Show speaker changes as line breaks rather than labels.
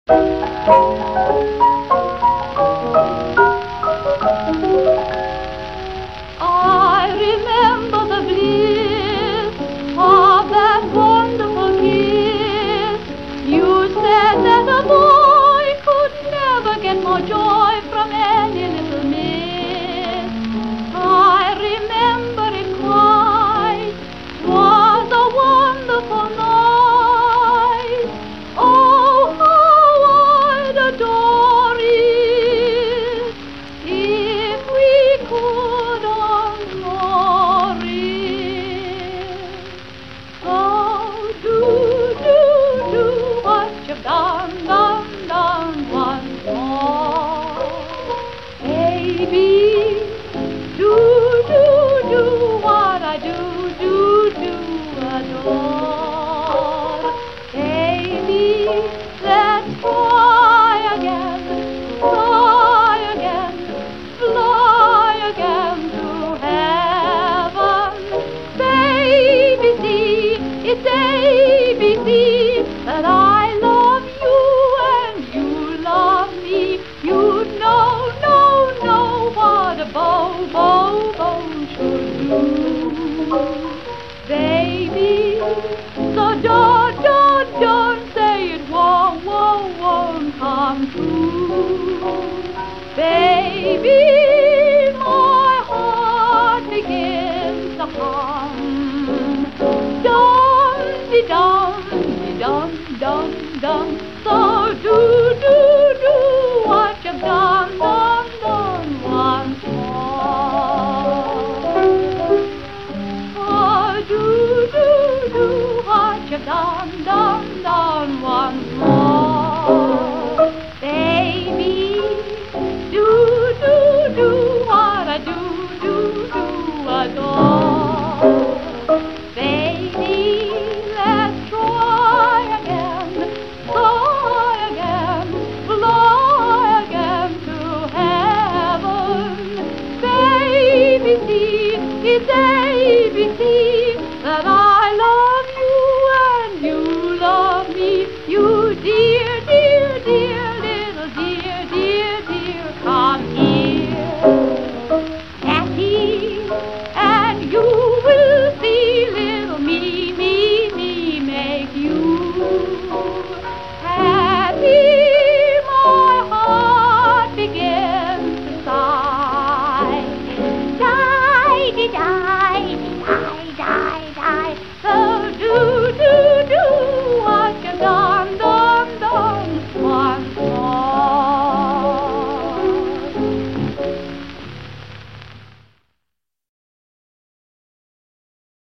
I remember the bliss of that wonderful kiss. You said that a boy could never get more joy from any little miss. I remember it quite. 'Twas a wonderful night. Oh, how I'd adore it if we could encore it. So do what you've done once more. Baby, do what I do adore. Baby, let's fly again to heaven. Baby, see, it's ABC that I love you and you love me. You know what a bow should do. Baby, so don't say it won't come true. Baby, my heart begins to hum. Dum-de-dum, so do